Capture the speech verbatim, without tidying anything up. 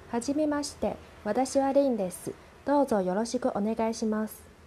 はじめまして、私はレインです。どうぞよろしくお願いします。